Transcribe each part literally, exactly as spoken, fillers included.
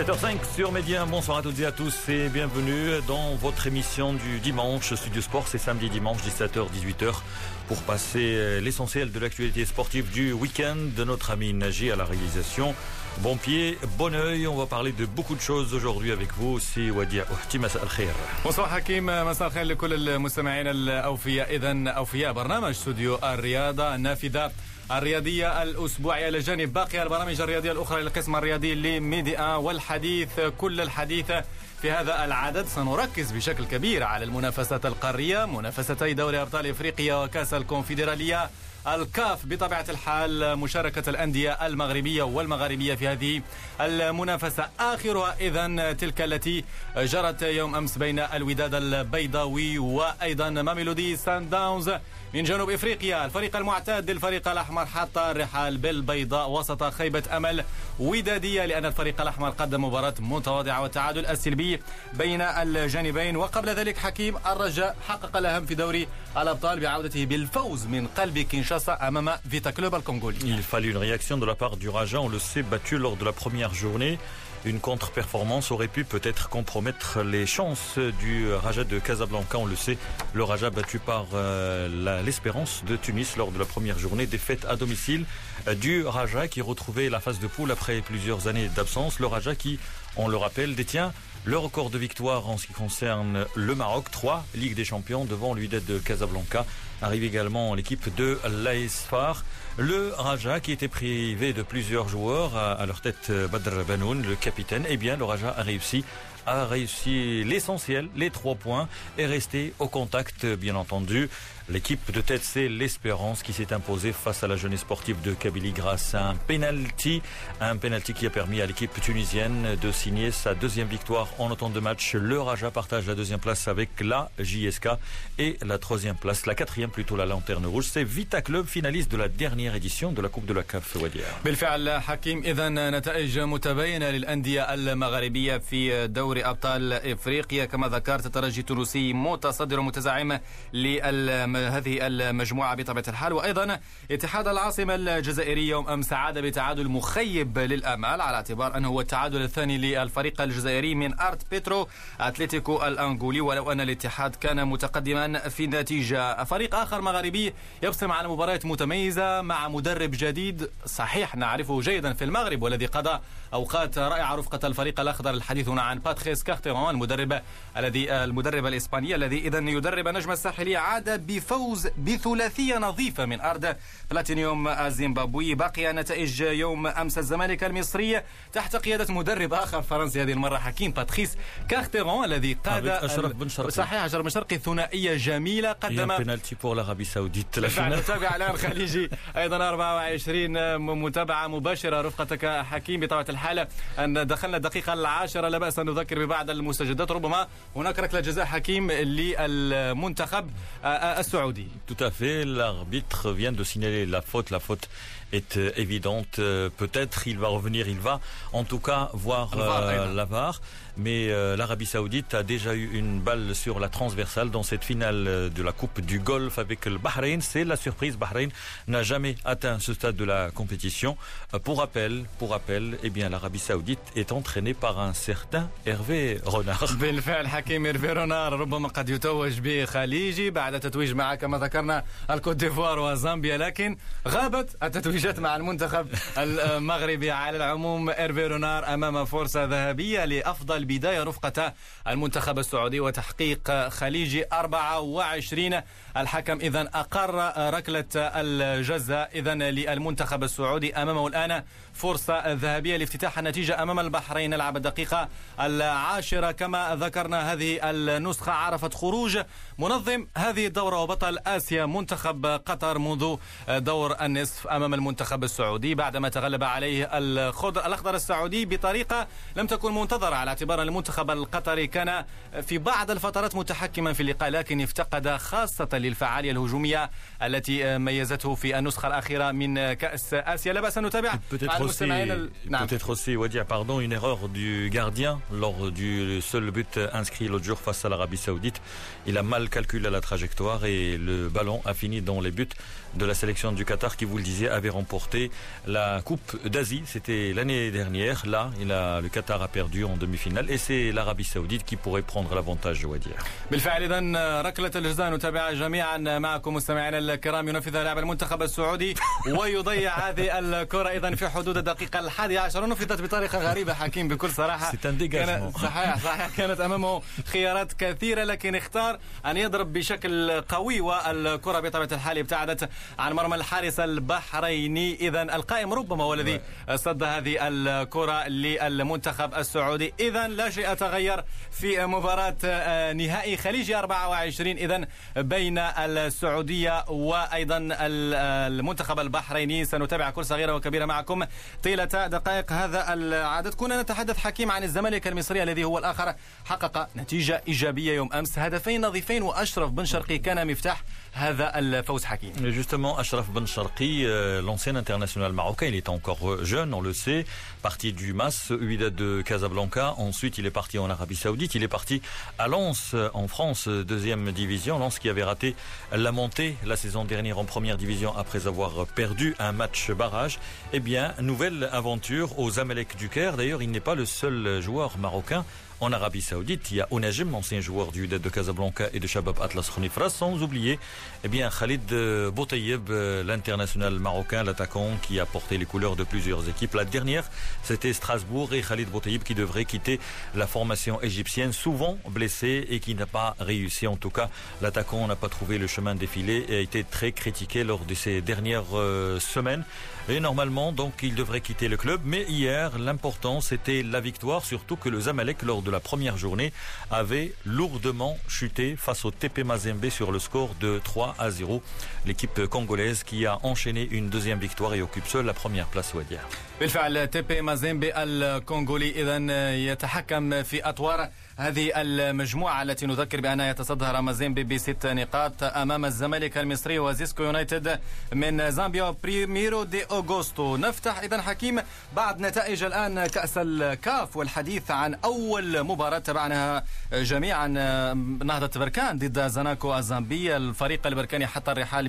sept heures cinq sur Média. Bonsoir à toutes et à tous et bienvenue dans votre émission du dimanche. Studio Sport, c'est samedi dimanche dix-sept heures dix-huit heures pour passer l'essentiel de l'actualité sportive du week-end de notre ami Naji à la réalisation. Bon pied, bon oeil, on va parler de beaucoup de choses aujourd'hui avec vous. C'est Wadia Ouhti, مساء الخير. Bonsoir Hakim, مساء الخير لكل المستمعين الأوفياء. إذن أوفياء برنامج استوديو الرياضة النافذة الرياضية الأسبوعية لجانب باقي البرامج الرياضية الأخرى للقسم الرياضي لميديا. والحديث كل الحديث في هذا العدد سنركز بشكل كبير على المنافسات القارية، منافستي دوري أبطال إفريقيا وكأس الكونفدرالية، الكاف بطبيعة الحال، مشاركة الأندية المغربية والمغاربية في هذه المنافسة. آخرها إذن تلك التي جرت يوم أمس بين الوداد البيضاوي وأيضا ماميلودي سان داونز من جنوب إفريقيا. الفريق المعتاد للفريق الأحمر حط الرحال بالبيضاء وسط خيبة أمل ودادية، لأن الفريق الأحمر قدم مباراة متواضعة والتعادل السلبي بين الجانبين. وقبل ذلك حكيم، الرجاء حقق الأهم في دوري الأبطال بعودته بالفوز من قلب كينشاسا أمام فيتا كلوب الكونغولي. Il fallait une réaction de la part du Raja, on le sait, battu lors de la première journée. Une contre-performance aurait pu peut-être compromettre les chances du Raja de Casablanca. On le sait, le Raja battu par euh, la, l'Espérance de Tunis lors de la première journée. Défaite à domicile euh, du Raja qui retrouvait la phase de poule après plusieurs années d'absence. Le Raja qui, on le rappelle, détient le record de victoire en ce qui concerne le Maroc. trois Ligue des Champions devant l'Wydad de Casablanca. Arrive également l'équipe de l'A S Far. Le Raja qui était privé de plusieurs joueurs, à, à leur tête Badr Banoun, le capitaine. Eh bien, le Raja a réussi a réussi l'essentiel, les trois points, et resté au contact, bien entendu. L'équipe de tête, c'est l'Espérance qui s'est imposée face à la jeunesse sportive de Kabylie grâce à un penalty. Un penalty qui a permis à l'équipe tunisienne de signer sa deuxième victoire en autant de matchs. Le Raja partage la deuxième place avec la J S K et la troisième place, la quatrième plutôt, la Lanterne Rouge. C'est Vita Club, finaliste de la dernière édition de la Coupe de la C A F. Wadia. بالفعل حكيم، إذن نتائج متباينة للأندية المغاربية في دوري أبطال إفريقيا. كما ذكرت، الترجي التونسي متصدر ومتزعم لهذه المجموعة بطبيعة الحال، وأيضا اتحاد العاصمة الجزائري يوم أمس عاد بتعادل مخيب للآمال، على اعتبار أنه هو التعادل الثاني للفريق الجزائري من أرت بيترو أتلتيكو الأنغولي، ولو أن الاتحاد كان متقدما في النتيجة. فريق آخر مغاربي يبصم على مباريات متميزة مع مدرب جديد صحيح نعرفه جيدا في المغرب، والذي قضى أوقات رائعة رفقة الفريق الأخضر. الحديث هنا عن باتريس كارتيرون، المدرب الذي المدرب الإسباني الذي إذن يدرب نجم الساحلية، عاد بفوز بثلاثية نظيفة من أرض بلاتينيوم الزيمبابوي. بقي نتائج يوم أمس الزمالك المصري تحت قيادة مدرب آخر فرنسي هذه المرة حكيم، باتريس كارتيرون، الذي قاد أشرف بن شرقي. صحيح، أشرف بن شرقي، ثنائية جميلة. قدم بنالتي بور العربية السعودية. نتابع الآن الخليجي أيضا أربعة وعشرين متابعة مباشرة رفقتك حكيم. بطبيعة الحال أن دخلنا الدقيقة العاشرة، لا بأس أن نذكر ببعض المستجدات. ربما هناك ركلة جزاء حكيم للمنتخب السعودي. Tout à fait, l'arbitre vient de signaler la faute, la faute est évidente, peut-être il va revenir, il va en tout cas voir euh, la V A R, mais euh, l'Arabie Saoudite a déjà eu une balle sur la transversale dans cette finale de la Coupe du Golfe avec le Bahreïn. C'est la surprise, Bahreïn n'a jamais atteint ce stade de la compétition. Pour rappel, pour rappel, eh bien l'Arabie Saoudite est entraînée par un certain Hervé Renard. بالفعل حكيم، هيرفي رونار ربما قد يتوج بخليجي بعد تتويج مع كما ذكرنا الكوت ديفوار وزامبيا، لكن غابت التتويجات مع المنتخب المغربي. على العموم هيرفي رونار أمام فرصة ذهبية لأفضل بداية رفقة المنتخب السعودي وتحقيق خليجي أربعة وعشرين. الحكم إذن أقر ركلة الجزاء إذن للمنتخب السعودي. أمامه الآن فرصة ذهبية لافتتاح النتيجة أمام البحرين. نلعب الدقيقة العاشرة. كما ذكرنا، هذه النسخة عرفت خروج منظم هذه الدورة وبطل آسيا منتخب قطر منذ دور النصف أمام المنتخب السعودي، بعدما تغلب عليه الخضر الأخضر السعودي بطريقة لم تكن منتظرة، على اعتبار أن المنتخب القطري كان في بعض الفترات متحكما في اللقاء، لكن افتقد خاصة للفعالية الهجومية التي ميزته في النسخة الأخيرة من كأس آسيا. لا بأس أن نتابع aussi, peut-être aussi Wadia, pardon, une erreur du gardien lors du seul but inscrit l'autre jour face à l'Arabie Saoudite. Il a mal calculé la trajectoire et le ballon a fini dans les buts de la sélection du Qatar qui, vous le disiez, avait remporté la Coupe d'Asie. C'était l'année dernière. Là, il a, le Qatar a perdu en demi-finale et c'est l'Arabie Saoudite qui pourrait prendre l'avantage, je dois dire. بالفعل إذن ركلة الجزاء نتابعها جميعا معكم مستمعينا الكرام. ينفذها لاعب المنتخب السعودي ويضيع هذه الكرة إذن في حدود الدقيقة الحادية عشر. ونفذت بطريقة غريبة حكيم بكل صراحة. كان صحيح صحيح كانت أمامه خيارات كثيرة لكن اختار أن يضرب بشكل قوي والكرة بطبيعة الحال ابتعدت عن مرمى الحارس البحريني. إذن القائم ربما هو الذي صد هذه الكرة للمنتخب السعودي. إذن لا شيء تغير في مباراة نهائي خليجي أربعة وعشرين إذن بين السعودية وأيضا المنتخب البحريني. سنتابع كل صغيرة وكبيرة معكم طيلة دقائق هذا العدد. كنا نتحدث حكيم عن الزمالك المصري الذي هو الآخر حقق نتيجة إيجابية يوم أمس، هدفين نظيفين وأشرف بن شرقي كان مفتاح هذا الفوز حكيم. Justement, Ashraf Ben Sharqi, euh, l'ancien international marocain, il est encore jeune, on le sait, parti du M A S Wydad de Casablanca. Ensuite, il est parti en Arabie Saoudite. Il est parti à Lens en France, deuxième division. Lens qui avait raté la montée la saison dernière en première division après avoir perdu un match barrage. Eh bien, nouvelle aventure aux Zamalek du Caire. D'ailleurs, il n'est pas le seul joueur marocain en Arabie Saoudite. Il y a Onajim, l'ancien joueur du Wydad de Casablanca et de Shabab Atlas Khnifras, sans oublier eh bien, Khalid Boutayeb, l'international marocain, l'attaquant qui a porté les couleurs de plusieurs équipes. La dernière, c'était Strasbourg et Khalid Boutayeb qui devrait quitter la formation égyptienne, souvent blessé et qui n'a pas réussi. En tout cas, l'attaquant n'a pas trouvé le chemin défilé et a été très critiqué lors de ces dernières euh, semaines. Et normalement, donc, il devrait quitter le club. Mais hier, l'important, c'était la victoire, surtout que le Zamalek, lors de la première journée, avait lourdement chuté face au T P Mazembe sur le score de trois à zéro. L'équipe congolaise qui a enchaîné une deuxième victoire et occupe seule la première place Wadia. بالفعل تي بي مازيمبي الكونغولي إذن يتحكم في أطوار هذه المجموعة التي نذكر بأنها يتصدر مازيمبي بست نقاط أمام الزمالك المصري وزيسكو يونايتد من زامبيا بريميرو دي أوغوستو. نفتح إذن حكيم بعد نتائج الآن كأس الكاف والحديث عن أول مباراة تبعناها جميعا، نهضة بركان ضد زاناكو الزامبية. الفريق البركاني حتى الرحال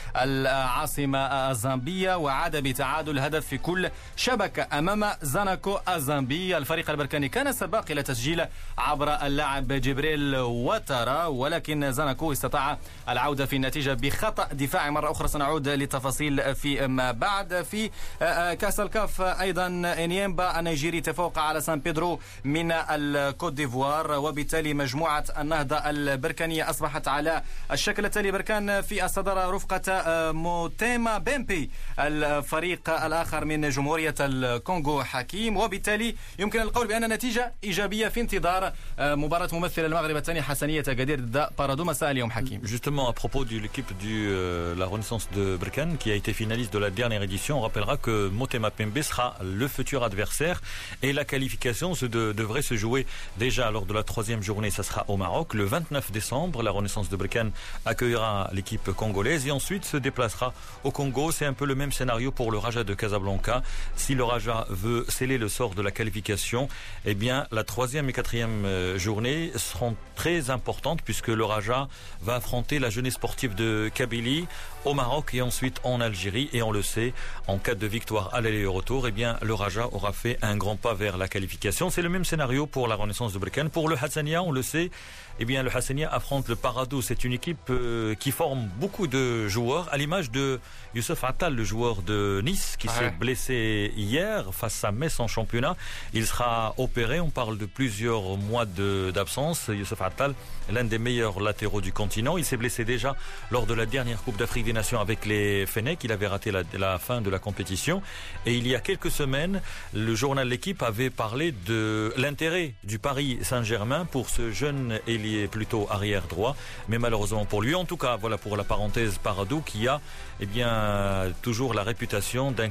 بالعاصمة الزامبية وعاد بتعادل هدف في كل شبكة أمام زاناكو الزامبية. الفريق البركاني كان سباق إلى تسجيل عبر اللاعب جبريل وترا، ولكن زاناكو استطاع العودة في النتيجة بخطأ دفاعي. مرة أخرى سنعود للتفاصيل في ما بعد. في كأس الكاف أيضا إنيمبا النيجيري تفوق على سان بيدرو من الكوت ديفوار، وبالتالي مجموعة النهضة البركانية أصبحت على الشكل التالي. بركان في الصدارة رفقة موتيما بيمبي الفريق الآخر من جمهورية الكونغو حكيم، وبالتالي يمكن القول بأن نتيجة إيجابية في انتظار مباراة ممثل المغرب الثاني حسنية أكادير ضد بارادو مساء اليوم حكيم. Justement, à propos de l'équipe de euh, la Renaissance de Berkane qui a été finaliste de la dernière édition, on rappellera que Motema Pembe sera le futur adversaire et la qualification se de, devrait se jouer déjà lors de la troisième journée. Ça sera au Maroc. Le vingt-neuf décembre, la Renaissance de Berkane accueillera l'équipe congolaise et ensuite se déplacera au Congo. C'est un peu le même scénario pour le Raja de Casablanca. Si le Raja veut sceller le sort de la qualification, eh bien la troisième et quatrième journée seront très importantes puisque le Raja va affronter la jeunesse sportive de Kabylie au Maroc et ensuite en Algérie. Et on le sait, en cas de victoire à l'aller et au retour, eh bien le Raja aura fait un grand pas vers la qualification. C'est le même scénario pour la Renaissance de Berkane. Pour le Hassania, on le sait, eh bien le Hassania affronte le Paradou. C'est une équipe euh, qui forme beaucoup de joueurs, à l'image de Youssef Attal, le joueur de Nice, qui ah s'est ouais. blessé hier face à Metz en championnat. Il sera opéré. On parle de plusieurs mois de, d'absence. Youssef Attal, l'un des meilleurs latéraux du continent. Il s'est blessé déjà lors de la dernière Coupe d'Afrique des Nations avec les Fennecs. Il avait raté la, la fin de la compétition. Et il y a quelques semaines, le journal L'Équipe avait parlé de l'intérêt du Paris Saint-Germain pour ce jeune ailier plutôt arrière droit. Mais malheureusement pour lui, en tout cas, voilà pour la parenthèse Paradou qui a eh bien, toujours la réputation d'un club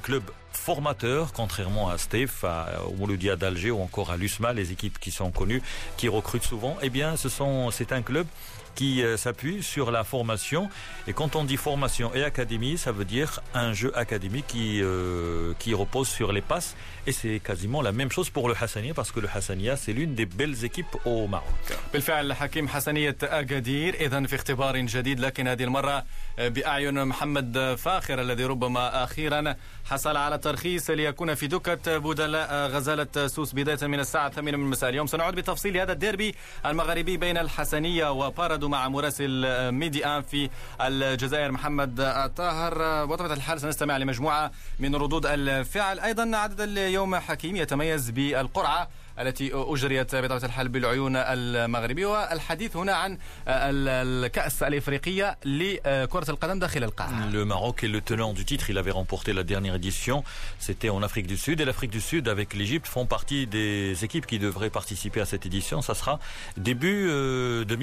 formateur, contrairement à Stef, à, au Mouloudia d'Alger ou encore à l'U S M A, les équipes qui sont connues, qui recrutent souvent. Eh bien, ce sont, c'est un club qui euh, s'appuie sur la formation. Et quand on dit formation et académie, ça veut dire un jeu académique qui, euh, qui repose sur les passes. Et c'est quasiment la même chose pour le Hassania, parce que le Hassania, c'est l'une des belles équipes au Maroc. بالفعل حكيم حسنية أكادير إذن في اختبار جديد، لكن هذه المرة بأعين محمد فاخر الذي ربما أخيرا حصل على ترخيص ليكون في دكة بدلاء غزالة سوس بداية من الساعة الثامنة من المساء اليوم. سنعود بتفصيل هذا الديربي المغربي بين الحسنية وباردو مع مراسل ميدي آن في الجزائر محمد الطاهر. بطبيعة الحال سنستمع لمجموعة من ردود الفعل. أيضا عدد اليوم حكيم يتميز بالقرعة التي أجريت بطبيعة الحال بالعيون المغربي، والحديث هنا عن الكأس الإفريقية لكرة القدم داخل القاعة. Le Maroc est le tenant du titre, il avait remporté la dernière édition, c'était en Afrique du Sud, et l'Afrique du Sud avec l'Égypte font partie des équipes qui devraient participer à cette édition. Ça sera début euh, deux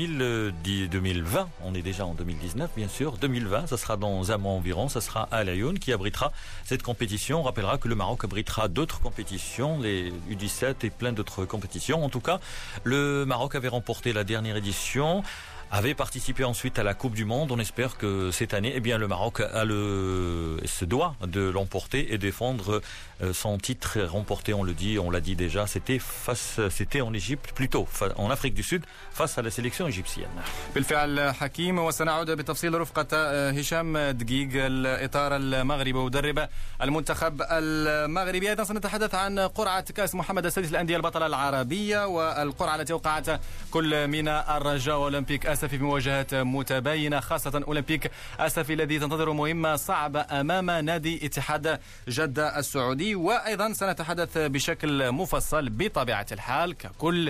mille vingt, on est déjà en deux mille dix-neuf bien sûr, deux mille vingt, ça sera dans un mois environ, ça sera à Laayoune qui abritera cette compétition. On rappellera que le Maroc abritera d'autres compétitions, les U dix-sept et plein d'autres compétitions. En tout cas, le Maroc avait remporté la dernière édition, avait participé ensuite à la Coupe du Monde. On espère que cette année, eh bien, le Maroc a le, se doit de l'emporter et défendre son titre remporté. On le dit, on l'a dit déjà, c'était face, c'était en Égypte, plutôt en Afrique du Sud, face à la sélection égyptienne. بالفعل حكيم، وسنعود بتفصيل رفقة هشام دقيق الإطار المغربي ومدرب المنتخب المغربي. أيضا سنتحدث عن قرعة كأس محمد السادس للأندية البطلة العربية، والقرعة التي وقعت كل من الرجاء وأولمبيك أسفي في مواجهات متباينة، خاصة أولمبيك أسفي الذي تنتظر مهمة صعبة أمام نادي اتحاد جدة السعودي. وأيضا سنتحدث بشكل مفصل بطبيعة الحال ككل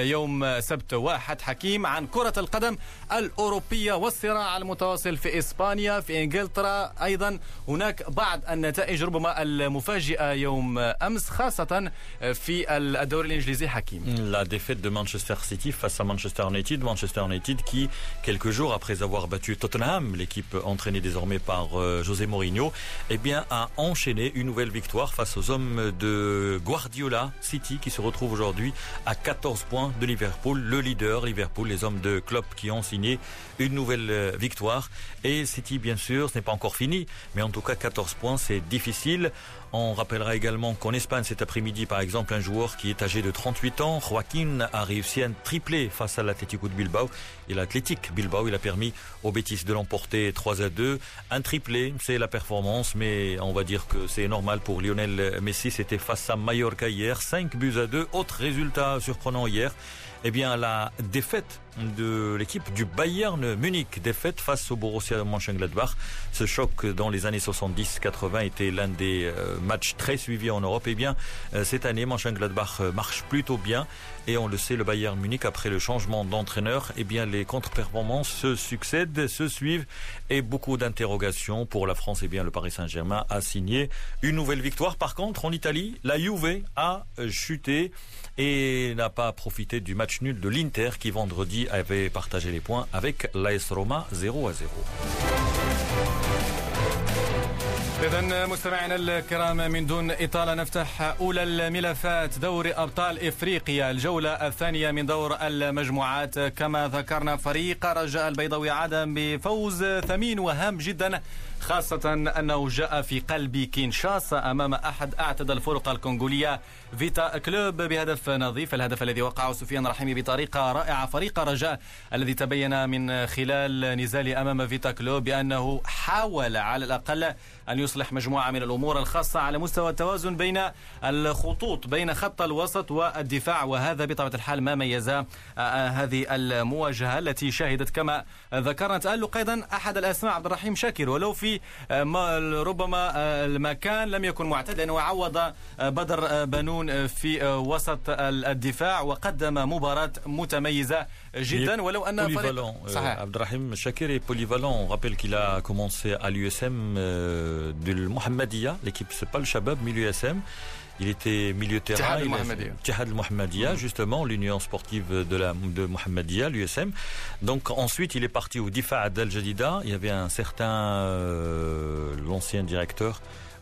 يوم سبت واحد حكيم عن كرة القدم الأوروبية والصراع المتواصل في إسبانيا، في إنجلترا. أيضا هناك بعض النتائج ربما المفاجئة يوم أمس، خاصة في الدوري الإنجليزي حكيم. La défaite de Manchester City face à Manchester United, Manchester United qui, quelques jours après avoir battu Tottenham, l'équipe entraînée désormais par euh, José Mourinho, eh bien, a enchaîné une nouvelle victoire face aux hommes de Guardiola City, qui se retrouve aujourd'hui à quatorze points de Liverpool, le leader Liverpool, les hommes de Klopp qui ont signé une nouvelle euh, victoire. Et City, bien sûr, ce n'est pas encore fini, mais en tout cas quatorze points, c'est difficile. On rappellera également qu'en Espagne cet après-midi, par exemple, un joueur qui est âgé de trente-huit ans, Joaquin, a réussi un triplé face à l'Atlético de Bilbao. Et l'Athletic Bilbao, il a permis aux Betis de l'emporter trois à deux. Un triplé, c'est la performance, mais on va dire que c'est normal pour Lionel Messi. C'était face à Mallorca hier, cinq buts à deux. Autre résultat surprenant hier, eh bien la défaite de l'équipe du Bayern Munich, défaite face au Borussia Mönchengladbach. Ce choc dans les années soixante-dix quatre-vingt était l'un des matchs très suivis en Europe. Eh bien, cette année, Mönchengladbach marche plutôt bien. Et on le sait, le Bayern Munich, après le changement d'entraîneur, eh bien, les contre-performances se succèdent, se suivent. Et beaucoup d'interrogations pour la France. Eh bien, le Paris Saint-Germain a signé une nouvelle victoire. Par contre, en Italie, la Juve a chuté et n'a pas profité du match nul de l'Inter qui, vendredi, avait partagé les points avec l'A S Roma zéro à zéro. إذن مستمعينا الكرام، من دون إطالة نفتح أولى الملفات دوري أبطال إفريقيا الجولة الثانية من دور المجموعات. كما ذكرنا، فريق رجاء البيضاوي عاد بفوز ثمين وهام جدا، خاصة أنه جاء في قلب كينشاسا أمام أحد أعتد الفرق الكونغولية فيتا كلوب بهدف نظيف. الهدف الذي وقعه سفيان رحيمي بطريقة رائعة. فريق رجاء الذي تبين من خلال نزاله أمام فيتا كلوب بأنه حاول على الأقل أن يصلح مجموعة من الأمور الخاصة على مستوى التوازن بين الخطوط بين خط الوسط والدفاع، وهذا بطبيعة الحال ما ميز هذه المواجهة التي شهدت كما ذكرنا تألق أيضا أحد الأسماء عبد الرحيم شاكر، ولو في ربما المكان لم يكن معتاد، لأنه عوض بدر بنون في وسط الدفاع وقدم مباراة متميزة جدا. ولو أن فريق صحيح عبد الرحيم شاكر est polyvalent. On rappelle qu'il a commencé à l'U S M euh, de Mohammedia, l'équipe c'est pas le Shabab mais l'U S M. Il était milieu de terrain. Tihad al-Mohammedia, justement, l'union sportive de, la, de Mohammedia, l'U S M. Donc ensuite, il est parti au Difa' Al-Jadida. Il y avait un certain, euh, l'ancien directeur,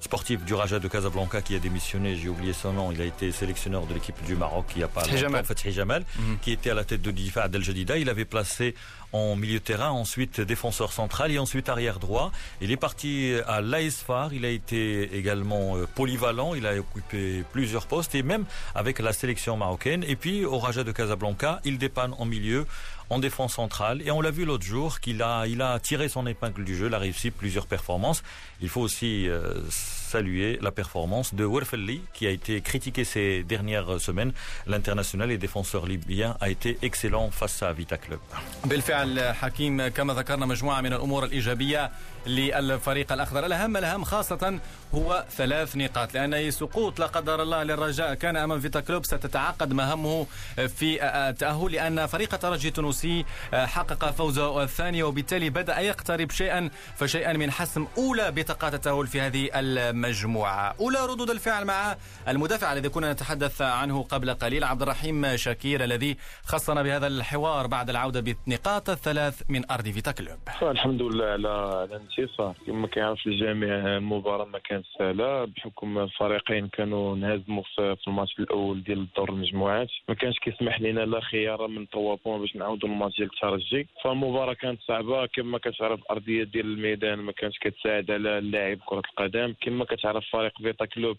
sportif du Raja de Casablanca qui a démissionné, j'ai oublié son nom, il a été sélectionneur de l'équipe du Maroc il n'y a pas longtemps, Fethi Jamal, mm-hmm. qui était à la tête de Difa Del Jadida. Il avait placé en milieu de terrain, ensuite défenseur central et ensuite arrière droit. Il est parti à l'Aisfar, il a été également polyvalent, il a occupé plusieurs postes et même avec la sélection marocaine. Et puis au Raja de Casablanca, il dépanne en milieu, en défense centrale. Et on l'a vu l'autre jour qu'il a, il a tiré son épingle du jeu, il a réussi plusieurs performances. Il faut aussi euh, saluer la performance de Werfelli qui a été critiqué ces dernières semaines. L'international et défenseur libyen a été excellent face à Vita Club. بالفعل حكيم كما ذكرنا مجموعة من الأمور الإيجابية للفريق الأخضر. الأهم الأهم خاصة هو ثلاث نقاط، لأن أي سقوط لا قدر الله للرجاء كان أمام فيتا كلوب ستتعقد مهامه في التأهل، لأن فريق الترجي التونسي حقق فوزه الثاني وبالتالي بدأ يقترب شيئا فشيئا من حسم أولى بطاقات التأهل في هذه المجموعة. أولى ردود الفعل مع المدافع الذي كنا نتحدث عنه قبل قليل عبد الرحيم شاكير الذي خصنا بهذا الحوار بعد العودة بالنقاط الثلاث من أرض فيتا كلوب. الحمد لله على الانتصار. كما كيعرف الجميع المباراة ما كانت سهلة بحكم الفريقين كانوا انهزموا في الماتش الأول ديال دور المجموعات، ما كانش كيسمح لنا لا خيار من ثلاثة بوان باش نعاودوا الماتش ديال الترجي. فالمباراة كانت صعبة، كما كتعرف الأرضية ديال الميدان ما كانش كتساعد على اللاعب كرة القدم. كما كتعرف فريق فيتا كلوب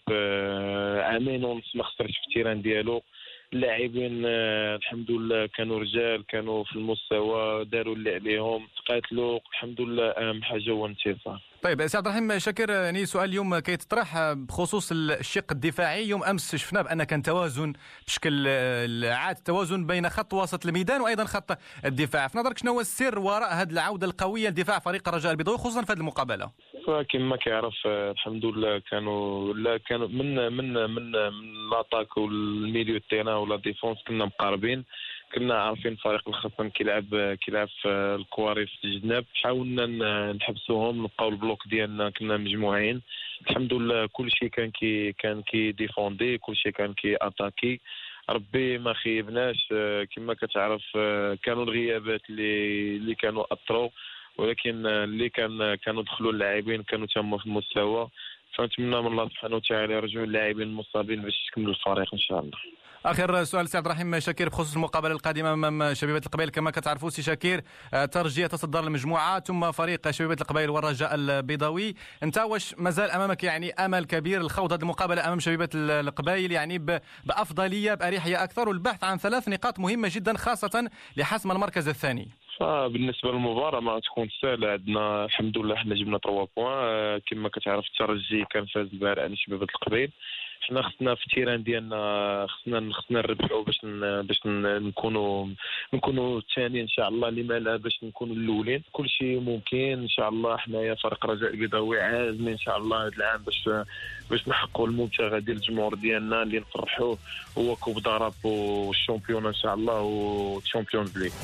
عامين ونص ما خسرش في التيران ديالو. اللاعبين الحمد لله كانوا رجال، كانوا في المستوى، داروا اللي عليهم، تقاتلوا. الحمد لله أهم حاجة هو الانتصار. طيب سي عبد الرحيم شاكر، يعني سؤال اليوم كيتطرح بخصوص الشق الدفاعي. يوم امس شفنا بان كان توازن بشكل عاد، توازن بين خط وسط الميدان وايضا خط الدفاع. في نظرك شنو هو السر وراء هذه العوده القويه لدفاع فريق الرجاء البيضاوي خصوصا في هذه المقابله؟ كما كيعرف الحمد لله كانوا لا كانوا من من من من لاطاك والميليو تيران ولا ديفونس كنا مقاربين، كنا عارفين فريق الخصم كيلعب كيلعب في الكواري في الجناب. حاولنا نحبسوهم، نبقاو البلوك ديالنا، كنا مجموعين. الحمد لله كل شيء كان كي كان كي ديفوندي، كل شيء كان كي اتاكي. ربي ما خيبناش. كما كتعرف كانوا الغيابات اللي اللي كانوا اثروا، ولكن اللي كان كانوا دخلوا اللاعبين كانوا تما في المستوى. فنتمنى من الله سبحانه وتعالى يرجعوا اللاعبين المصابين باش يكملوا الفريق ان شاء الله. اخر سؤال سي عبد الرحيم شاكير بخصوص المقابله القادمه امام شبيبه القبائل. كما كتعرفوا سي شاكير ترجي يتصدر المجموعه ثم فريق شبيبه القبائل والرجاء البيضاوي. انت واش مازال امامك يعني امل كبير الخوض هذه المقابله امام شبيبه القبائل يعني بافضليه باريحيه اكثر والبحث عن ثلاث نقاط مهمه جدا خاصه لحسم المركز الثاني؟ بالنسبه للمباراه ما تكون سهله. عندنا الحمد لله حنا جبنا ثلاثة بوان. كما كتعرف الترجي كان فاز البارح على شبيبه القبائل. حنا خصنا في التيران ديالنا خصنا خصنا نربحوا باش باش نكونوا نكونوا الثاني ان شاء الله، لما لا باش نكونوا الاولين. كل شيء ممكن ان شاء الله. حنايا فريق رجاء البيضاوي عازمين ان شاء الله هذا العام باش باش نحققوا المبتغى ديال الجمهور ديالنا اللي نفرحوه هو كوب داراب والشامبيون ان شاء الله والشامبيونز ليغ.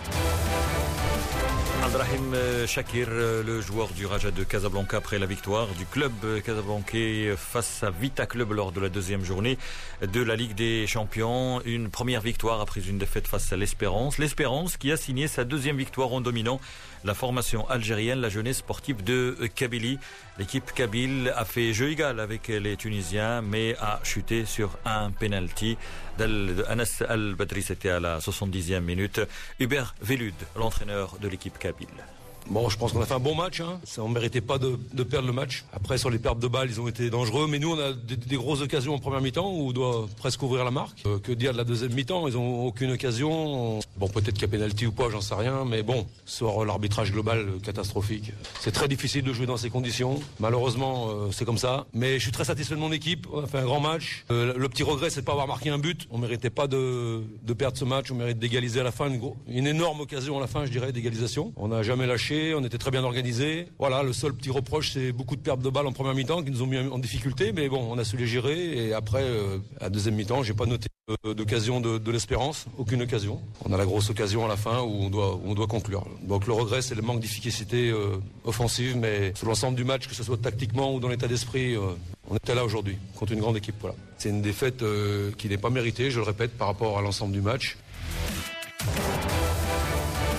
Abdrahim Shakir, le joueur du Raja de Casablanca après la victoire du club casablancais face à Vita Club lors de la deuxième journée de la Ligue des Champions. Une première victoire après une défaite face à l'Espérance. L'Espérance qui a signé sa deuxième victoire en dominant la formation algérienne, la jeunesse sportive de Kabylie. L'équipe kabyle a fait jeu égal avec les Tunisiens mais a chuté sur un penalty d'Anas Al-Badri. C'était à la soixante-dixième minute. Hubert Velud, l'entraîneur de l'équipe kabyle. Bon, je pense qu'on a fait un bon match. Hein. Ça, on ne méritait pas de, de perdre le match. Après, sur les pertes de balles, ils ont été dangereux. Mais nous, on a des, des grosses occasions en première mi-temps où on doit presque ouvrir la marque. Euh, que dire de la deuxième mi-temps? Ils n'ont aucune occasion. Bon, peut-être qu'il y a pénalty ou pas, j'en sais rien. Mais bon, sur l'arbitrage global catastrophique. C'est très difficile de jouer dans ces conditions. Malheureusement, euh, c'est comme ça. Mais je suis très satisfait de mon équipe. On a fait un grand match. Euh, le petit regret, c'est de pas avoir marqué un but. On ne méritait pas de, de perdre ce match. On mérite d'égaliser à la fin. Une, une énorme occasion à la fin, je dirais, d'égalisation. On n'a jamais lâché. On était très bien organisé. Voilà, le seul petit reproche, c'est beaucoup de pertes de balles en première mi-temps qui nous ont mis en difficulté. Mais bon, on a su les gérer. Et après, euh, à deuxième mi-temps, j'ai pas noté euh, d'occasion de, de l'Espérance. Aucune occasion. On a la grosse occasion à la fin où on doit, où on doit conclure. Donc le regret, c'est le manque d'efficacité euh, offensive. Mais sur l'ensemble du match, que ce soit tactiquement ou dans l'état d'esprit, euh, on était là aujourd'hui contre une grande équipe. Voilà. C'est une défaite euh, qui n'est pas méritée, je le répète, par rapport à l'ensemble du match.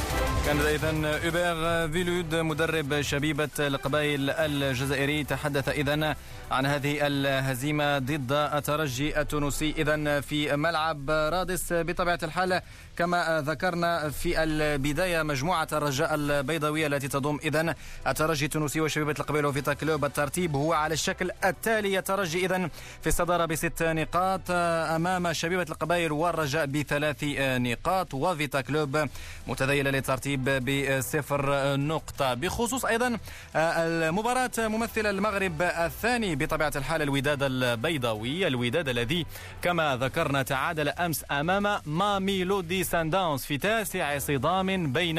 كان إذن أوبير فيلود مدرب شبيبة القبائل الجزائري تحدث إذن عن هذه الهزيمة ضد الترجي التونسي إذن في ملعب رادس. بطبيعة الحال كما ذكرنا في البداية مجموعة الرجاء البيضاوية التي تضم إذن الترجي التونسي وشبيبة القبائل وفيتا كلوب. الترتيب هو على الشكل التالي: الترجي إذن في الصدارة بست نقاط أمام شبيبة القبائل والرجاء بثلاث نقاط، وفيتا كلوب متذيلة للترتيب بصفر نقطة. بخصوص أيضا المباراة ممثل المغرب الثاني بطبيعة الحال الوداد البيضاوي، الوداد الذي كما ذكرنا تعادل أمس أمام ماميلودي سانداونز في تاسع صدام بين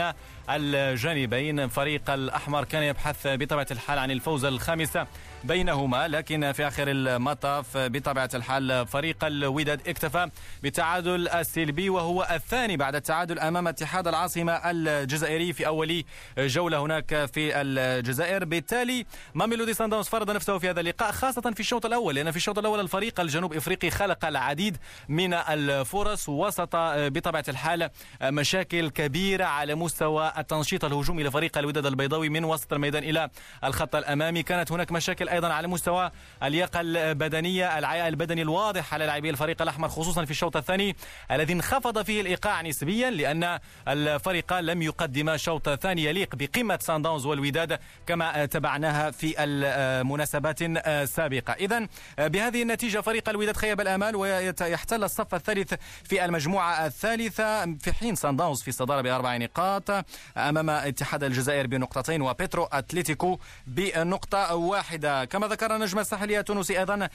الجانبين. فريق الأحمر كان يبحث بطبيعة الحال عن الفوز الخامس بينهما، لكن في آخر المطاف بطبيعة الحال فريق الوداد اكتفى بالتعادل السلبي وهو الثاني بعد التعادل أمام اتحاد العاصمة الجزائري في أول جولة هناك في الجزائر. بالتالي ماميلودي سانداونز فرض نفسه في هذا اللقاء خاصة في الشوط الأول، لأن في الشوط الأول الفريق الجنوب إفريقي خلق العديد من الفرص وسط بطبيعة الحال مشاكل كبيرة على مستوى التنشيط الهجومي لفريق الوداد البيضاوي من وسط الميدان إلى الخط الأمامي. كانت هناك مشاكل أيضا على مستوى اللياقة البدنية، العياء البدني الواضح على لاعبي الفريق الأحمر خصوصا في الشوط الثاني الذي انخفض فيه الإيقاع نسبيا، لأن الفريق لم يقدم شوط ثاني يليق بقمة سانداونز والوداد كما تبعناها في المناسبات السابقة. إذن بهذه النتيجة فريق الوداد خيب الآمال ويحتل الصف الثالث في المجموعة الثالثة، في حين سانداونز في الصدارة بأربع نقاط أمام اتحاد الجزائر بنقطتين وبيترو أتليتيكو بنقطة واحدة. كما ذكر نجم الساحلية التونسي أيضا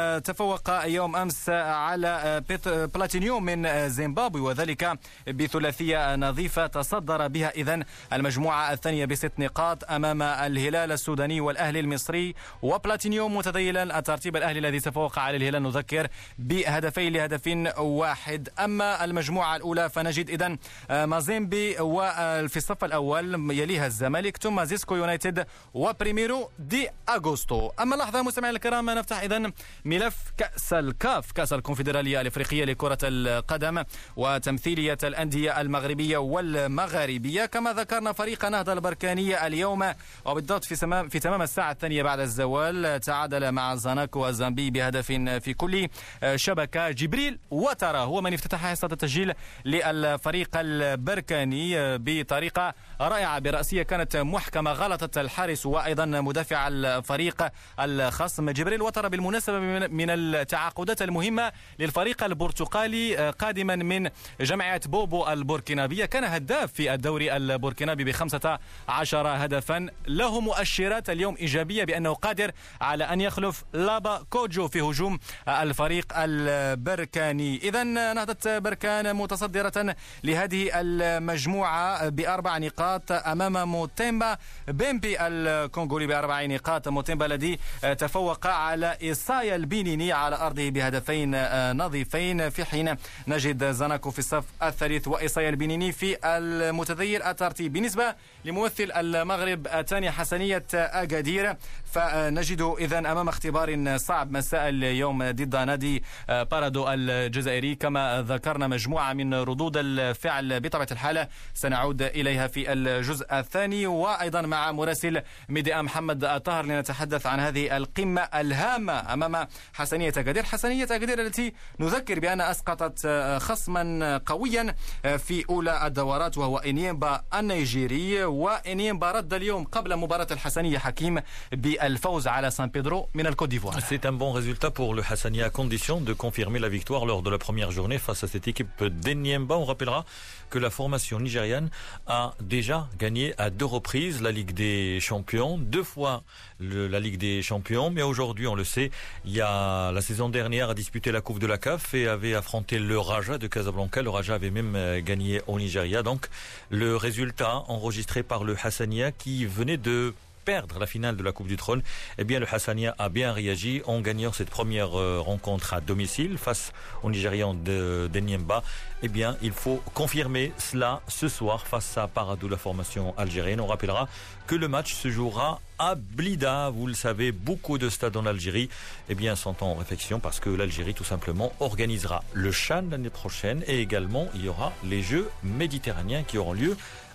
تفوق يوم أمس على بلاتينيوم من زيمبابوي وذلك بثلاثية نظيفة تصدر بها إذن المجموعة الثانية بست نقاط أمام الهلال السوداني والأهلي المصري، وبلاتينيوم متذيلا الترتيب الأهلي الذي تفوق على الهلال نذكر بهدفين لهدف واحد. أما المجموعة الأولى فنجد إذن مازيمبي وفي الصف الأول يليها الزمالك ثم زيسكو يونايتد وبريميرو دي أغوستو. أما لحظة مستمعينا الكرام نفتح إذن ملف كأس الكاف، كأس الكونفدرالية الإفريقية لكرة القدم وتمثيلية الأندية المغربية والمغاربية. كما ذكرنا فريق نهضة البركانية اليوم وبالضبط في تمام في تمام الساعة الثانية بعد الزوال تعادل مع زاناكو الزامبي بهدف في كل شبكة. جبريل وترى هو من افتتح حصة التسجيل للفريق البركاني بطريقة رائعة برأسية كانت محكمة، غلطت الحارس وأيضا مدافع الفريق الخصم. جبريل وترى بالمناسبة من التعاقدات المهمة للفريق البرتقالي قادما من جمعية بوبو البوركينابية، كان هداف في الدوري البوركينابي بخمسة عشر هدفا، له مؤشرات اليوم إيجابية بأنه قادر على أن يخلف لابا كوجو في هجوم الفريق البركاني. إذن نهضة بركان متصدرة لهذه المجموعة بأربع نقاط أمام موتيمبا بيمبي الكونغولي بأربع نقاط. موتيمبا الذي تفوق على إيسايا البنيني على أرضه بهدفين نظيفين، في حين نجد زاناكو في الصف الثالث وإيسايا البنيني في المتذيل الترتيب. بالنسبة لممثل المغرب الثاني حسنية أكادير فنجد إذن أمام اختبار صعب مساء اليوم ضد نادي بارادو الجزائري. كما ذكرنا مجموعة من ردود الفعل بطبيعة الحال سنعود إليها في الجزء الثاني، وأيضا مع مراسل ميديا محمد الطاهر لنتحدث عن هذه القمة الهامة أمام حسنية أكادير. حسنية أكادير التي نذكر بأن أسقطت خصما قويا في أولى الدورات وهو إنيمبا النيجيري، وإنيمبا رد اليوم قبل مباراة الحسنية حكيم بالفوز على سان بيدرو من الكوت ديفوار. C'est un bon résultat pour le Hassania à condition de confirmer la victoire lors de la première journée face à cette équipe d'Enyimba. On rappellera que la formation nigériane a déjà gagné à deux reprises la Ligue des Champions, deux fois le, la Ligue des Champions, mais aujourd'hui, on le sait, il y a la saison dernière a disputé la Coupe de la C A F et avait affronté le Raja de Casablanca. Le Raja avait même gagné au Nigeria. Donc, le résultat enregistré par le Hassania qui venait de perdre la finale de la Coupe du Trône, eh bien le Hassania a bien réagi en gagnant cette première euh, rencontre à domicile face aux Nigérians de d'Enyimba. Eh bien, il faut confirmer cela ce soir face à Paradou, la formation algérienne. On rappellera que le match se jouera à Blida. Vous le savez, beaucoup de stades en Algérie eh bien, sont en réflexion parce que l'Algérie tout simplement organisera le Chan l'année prochaine et également il y aura les Jeux méditerranéens qui auront lieu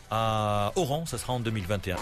à Oran, ça sera en deux mille vingt et un.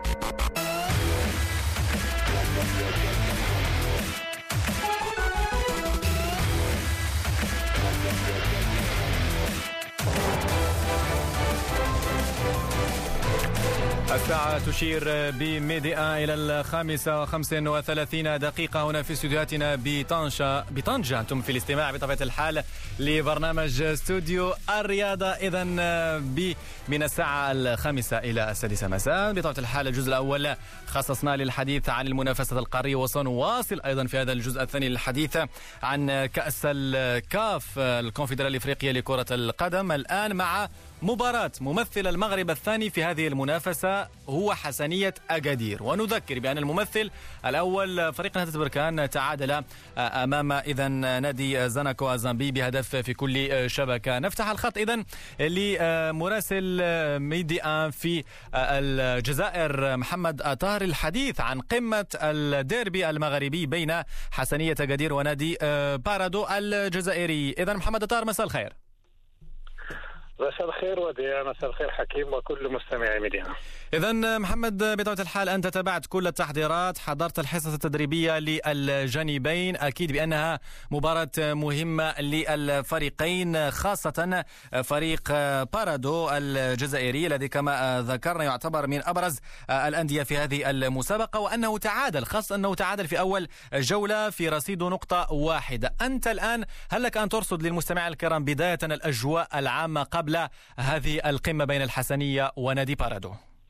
الساعة تشير بميديا إلى الخامسة وخمس وثلاثين دقيقة هنا في استوديوهاتنا بطنجة بطنجة أنتم في الاستماع بطبيعة الحال لبرنامج استوديو الرياضة. إذا من الساعة الخامسة إلى السادسة مساء بطبيعة الحال الجزء الأول خصصنا للحديث عن المنافسة القارية، وسنواصل أيضا في هذا الجزء الثاني للحديث عن كأس الكاف الكونفدرالية الإفريقية لكرة القدم. الآن مع مباراة ممثل المغرب الثاني في هذه المنافسة هو حسنية أكادير، ونذكر بأن الممثل الأول فريق نهضة بركان تعادل أمام إذا نادي زاناكو أزامبي بهدف في كل شبكة. نفتح الخط إذا لمراسل ميديا في الجزائر محمد أطار الحديث عن قمة الديربي المغربي بين حسنية أكادير ونادي بارادو الجزائري. إذا محمد أطار، مساء الخير. مساء الخير وديع، مساء الخير حكيم وكل مستمعي ميديا. إذن محمد، بطبيعة الحال أنت تابعت كل التحضيرات، حضرت الحصص التدريبية للجانبين، أكيد بأنها مباراة مهمة للفريقين، خاصة فريق بارادو الجزائري الذي كما ذكرنا يعتبر من أبرز الأندية في هذه المسابقة، وأنه تعادل، خاصة أنه تعادل في أول جولة في رصيد نقطة واحدة. أنت الآن هل لك أن ترصد للمستمعين الكرام بداية الأجواء العامة قبل هذه القمة بين الحسنية ونادي بارادو؟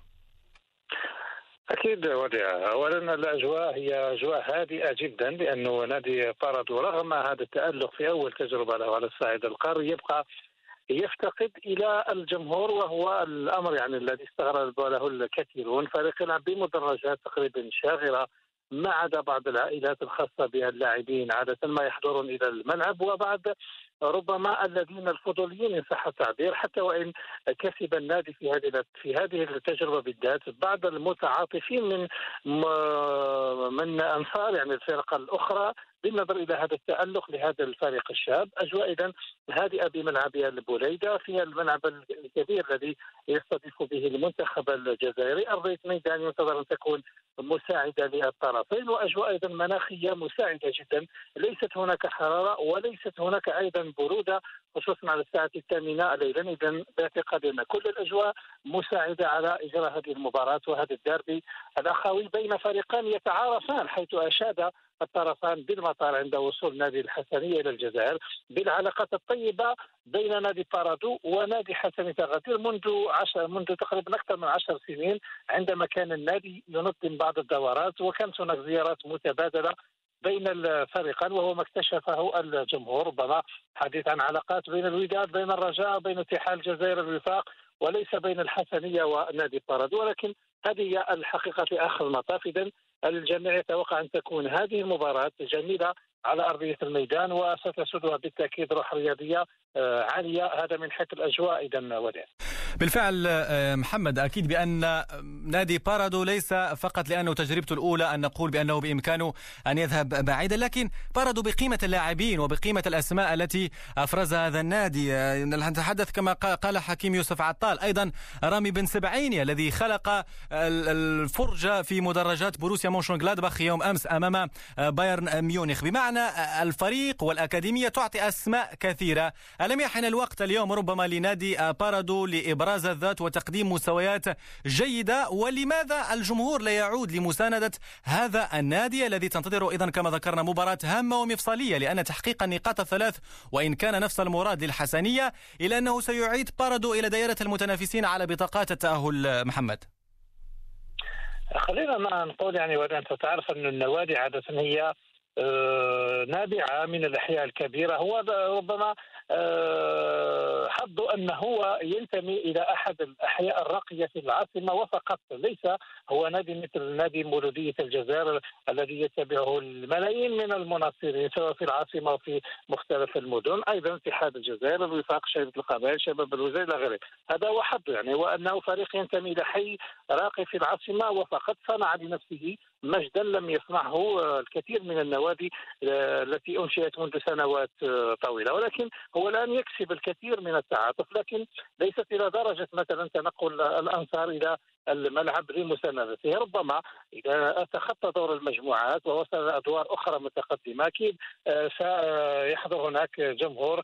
أكيد وديع، أولا الأجواء هي أجواء هادئة جدا، لأنه نادي بارادو رغم هذا التألق في أول تجربة له على الصعيد القاري يبقى يفتقد إلى الجمهور، وهو الأمر يعني الذي استغرب له الكثيرون. فريق يلعب بمدرجات تقريبا شاغرة، ما عدا بعض العائلات الخاصة بها اللاعبين عادة ما يحضرون إلى الملعب، وبعض ربما الذين الفضوليين إن صح التعبير، حتى وإن كسب النادي في هذه في هذه التجربة بالذات بعض المتعاطفين من من أنصار يعني الفرق الأخرى بالنظر إلى هذا التألق لهذا الفريق الشاب. أجواء إذن هادئة بملعب البوليدة، فيها الملعب الكبير الذي يستضيف به المنتخب الجزائري. أرضية ميدان ينتظر أن تكون مساعدة للطرفين، وأجواء أيضا مناخية مساعدة جدا، ليست هناك حرارة وليست هناك أيضا برودة، خصوصا على الساعة الثامنة ليلا. إذن باعتقاد أن كل الأجواء مساعدة على إجراء هذه المباراة وهذا الديربي الأخوي بين فريقان يتعارفان، حيث أشاد الطرفان بالمطار عند وصول نادي الحسنية إلى الجزائر بالعلاقات الطيبة بين نادي بارادو ونادي حسنية أكادير منذ عشر منذ تقريبا أكثر من عشر سنين، عندما كان النادي ينظم بعض الدورات وكانت هناك زيارات متبادلة بين الفريقين، وهو ما اكتشفه الجمهور، ربما حديث عن علاقات بين الوداد بين الرجاء بين اتحاد الجزائر الوفاق، وليس بين الحسنية ونادي بارادو. ولكن هذه هي الحقيقة في آخر المطاف. إذن الجميع يتوقع أن تكون هذه المباراة جميلة على أرضية الميدان، وستسودها بالتأكيد روح رياضية عالية. هذا من حيث الأجواء. إذن وديع، بالفعل محمد، أكيد بأن نادي بارادو ليس فقط لأنه تجربته الأولى أن نقول بأنه بإمكانه أن يذهب بعيدا، لكن بارادو بقيمة اللاعبين وبقيمة الأسماء التي أفرزها هذا النادي. نتحدث كما قال حكيم يوسف عطال، أيضا رامي بن سبعيني الذي خلق الفرجة في مدرجات بروسيا مونشنغلادباخ يوم أمس أمام بايرن ميونخ. بمعنى الفريق والأكاديمية تعطي أسماء كثيرة. ألم يحن الوقت اليوم ربما لنادي بارادو لإبراز الذات وتقديم مستويات جيدة؟ ولماذا الجمهور لا يعود لمساندة هذا النادي الذي تنتظره إذن كما ذكرنا مباراة هامة ومفصلية، لأن تحقيق النقاط الثلاث وإن كان نفس المراد للحسنية إلا أنه سيعيد بارادو إلى دائرة المتنافسين على بطاقات التأهل. محمد، خلينا ما نقول يعني، وأنت تعرف أن النوادي عادة هي نابعة من الأحياء الكبيرة، هو ربما حظه أنه هو ينتمي إلى أحد الأحياء الراقية في العاصمة وفقط، ليس هو نادي مثل نادي مولودية الجزائر الذي يتبعه الملايين من المناصرين سواء في العاصمة وفي مختلف المدن. أيضا اتحاد الجزائر الوفاق شباب القبائل شباب الوزير إلى غيره. هذا هو حظه يعني، وأنه فريق ينتمي إلى حي راقي في العاصمة وفقط صنع لنفسه مجدا لم يصنعه الكثير من النوادي التي أنشئت منذ سنوات طويلة، ولكن هو الآن يكسب الكثير من التعاطف، لكن ليست إلى درجة مثلا تنقل الأنصار إلى الملعب لمساندته. ربما إذا تخطى دور المجموعات ووصل أدوار أخرى متقدمة أكيد سيحضر هناك جمهور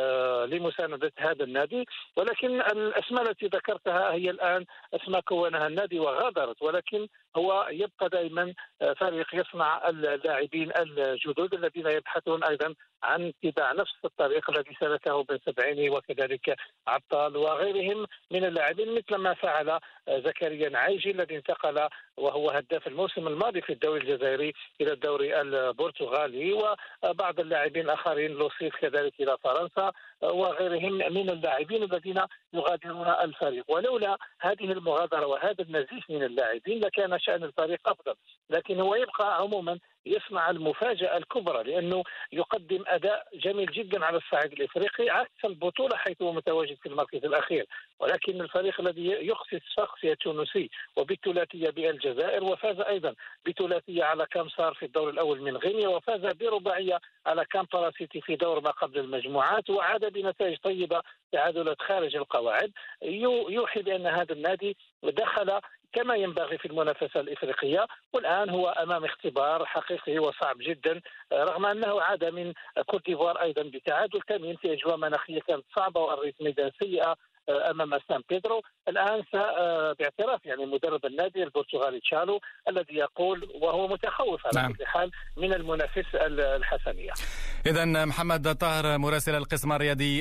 لمساندة هذا النادي، ولكن الأسماء التي ذكرتها هي الآن أسماء كونها النادي وغادرت، ولكن هو يبقى دائما فريق يصنع اللاعبين الجدد الذين يبحثون أيضا عن اتباع نفس الطريق الذي سلكه بن سبعيني وكذلك عبطال وغيرهم من اللاعبين، مثل ما فعل زكريا نعيجي الذي انتقل وهو هداف الموسم الماضي في الدوري الجزائري إلى الدوري البرتغالي، وبعض اللاعبين الآخرين لوسيف كذلك إلى فرنسا وغيرهم من اللاعبين الذين يغادرون الفريق. ولولا هذه المغادرة وهذا النزيف من اللاعبين لكان شأن الفريق أفضل، لكن هو يبقى عموما يصنع المفاجأة الكبرى لأنه يقدم أداء جميل جدا على الصعيد الإفريقي عكس البطولة حيث هو متواجد في المركز الأخير، ولكن الفريق الذي يقصي الشخصية التونسي وبالثلاثية بالجزائر وفاز أيضا بثلاثية على كامسار في الدور الأول من غينيا وفاز برباعية على كامبالا سيتي في دور ما قبل المجموعات وعاد بنتائج طيبة تعادلات خارج القواعد، يوحي بأن هذا النادي دخل كما ينبغي في المنافسة الإفريقية، والآن هو أمام اختبار حقيقي وصعب جدا رغم أنه عاد من كوت ديفوار أيضا بتعادل ثمين في أجواء مناخية كانت صعبة وأرضية ميدان سيئة أمام سان بيدرو. الآن باعتراف يعني مدرب النادي البرتغالي تشالو الذي يقول وهو متخوف على كل حال من المنافس الحسنية. إذن محمد طاهر مراسل القسم الرياضي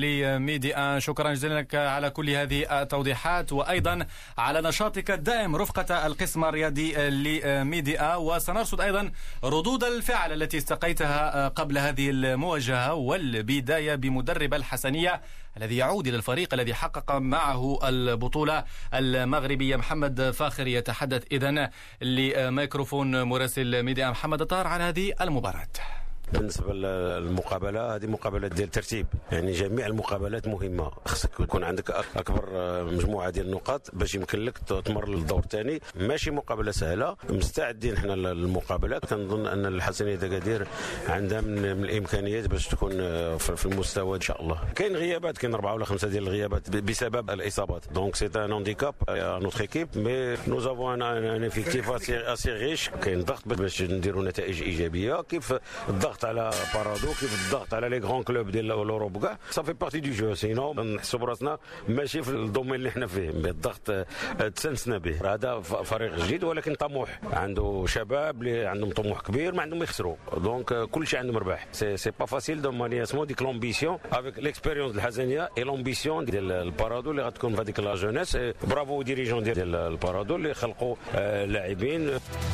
لميديا، شكرا جزيلا لك على كل هذه التوضيحات وأيضا على نشاطك الدائم رفقة القسم الرياضي لميديا، وسنرصد أيضا ردود الفعل التي استقيتها قبل هذه المواجهة والبداية بمدرب الحسنية الذي يعود إلى الفريق الذي حقق معه البطولة المغربية. محمد فاخر يتحدث إذن لميكروفون مراسل ميديا محمد طاهر عن هذه المباراة. بالنسبه للمقابله هذه مقابله ديال الترتيب، يعني جميع المقابلات مهمه، خصك يكون عندك اكبر مجموعه ديال النقاط باش يمكن لك تمر للدور الثاني. ماشي مقابله سهله، مستعدين حنا للمقابلات. كنظن ان الحسنيه دكادير عندها من الامكانيات باش تكون في المستوى ان شاء الله. كاين غيابات، كاين اربعه ولا خمسه ديال الغيابات بسبب الاصابات، دونك سي ان هانديكاب ا نوتر ايكيب، مي نو افون ان افيكتيف اسي ريش. كاين ضغط باش نديروا نتائج ايجابيه، كيف الضغط على بارادو، كيف الضغط على لي غران كلوب ديال اوروب كاع. صافي بارتي دو جو، سينو نحسوا براسنا ماشي في الدومين اللي حنا فيه، الضغط تسنسنا به. هذا فريق جديد ولكن طموح، عنده شباب اللي عندهم طموح كبير ما عندهم يخسروا، دونك كل شيء عندهم رباح. سي سي با فاسيل دو ماني اسمو ديك لومبيسيون افيك ليكسبيريونس الحسنيه اي لومبيسيون ديال البارادو اللي غتكون في هذيك لا جونيس. برافو ديريجون ديال البارادو اللي خلقوا لاعبين.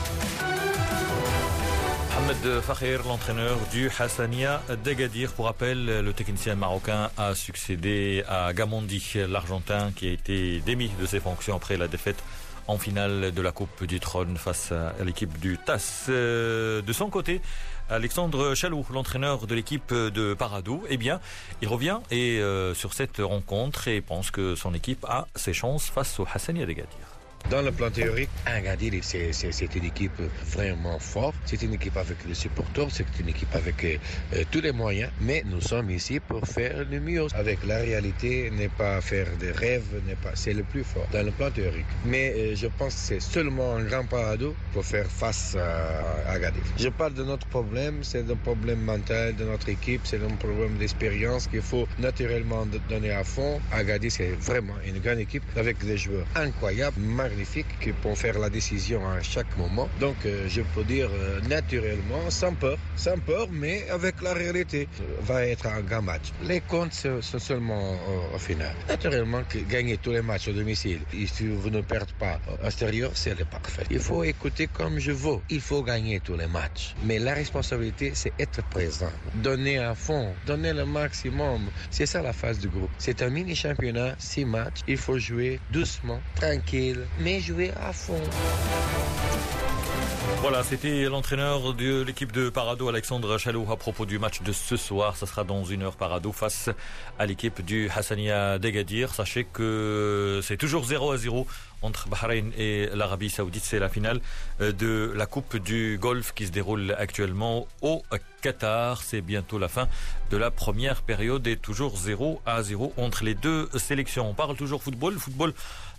Mohamed Fakher, l'entraîneur du Hassania d'Agadir. Pour rappel, le technicien marocain a succédé à Gamondi, l'Argentin, qui a été démis de ses fonctions après la défaite en finale de la Coupe du Trône face à l'équipe du T A S. De son côté, Alexandre Chaloux, l'entraîneur de l'équipe de Paradou, eh bien, il revient et, euh, sur cette rencontre et pense que son équipe a ses chances face au Hassania d'Agadir. Dans le plan théorique, Agadir, c'est une équipe vraiment forte. C'est une équipe avec les supporters, c'est une équipe avec euh, tous les moyens. Mais nous sommes ici pour faire le mieux. Avec la réalité, n'est pas faire des rêves, n'est pas. C'est le plus fort dans le plan théorique. Mais euh, je pense que c'est seulement un grand Paradou pour faire face à Agadir. Je parle de notre problème, c'est un problème mental de notre équipe, c'est un problème d'expérience qu'il faut naturellement donner à fond. Agadir, c'est vraiment une grande équipe avec des joueurs incroyables, magnifiques, qui peuvent faire la décision à chaque moment. Donc euh, je peux dire euh, naturellement, sans peur, sans peur, mais avec la réalité, va être un grand match. Les comptes sont seulement euh, au final. Naturellement, que gagner tous les matchs au domicile, et si vous ne perdez pas à l'extérieur, c'est le parfait. Il faut écouter comme je veux. Il faut gagner tous les matchs. Mais la responsabilité, c'est être présent, donner à fond, donner le maximum. C'est ça la phase du groupe. C'est un mini-championnat, six matchs. Il faut jouer doucement, tranquille, mais jouer à fond. Voilà, c'était l'entraîneur de l'équipe de Parado, Alexandre Chalou, à propos du match de ce soir. Ça sera dans une heure Parado face à l'équipe du Hassania d'Agadir. Sachez que c'est toujours zéro à zéro entre Bahreïn et l'Arabie Saoudite. C'est la finale de la Coupe du Golfe qui se déroule actuellement au Qatar. C'est bientôt la fin de la première période et toujours zéro à zéro entre les deux sélections. On parle toujours football, football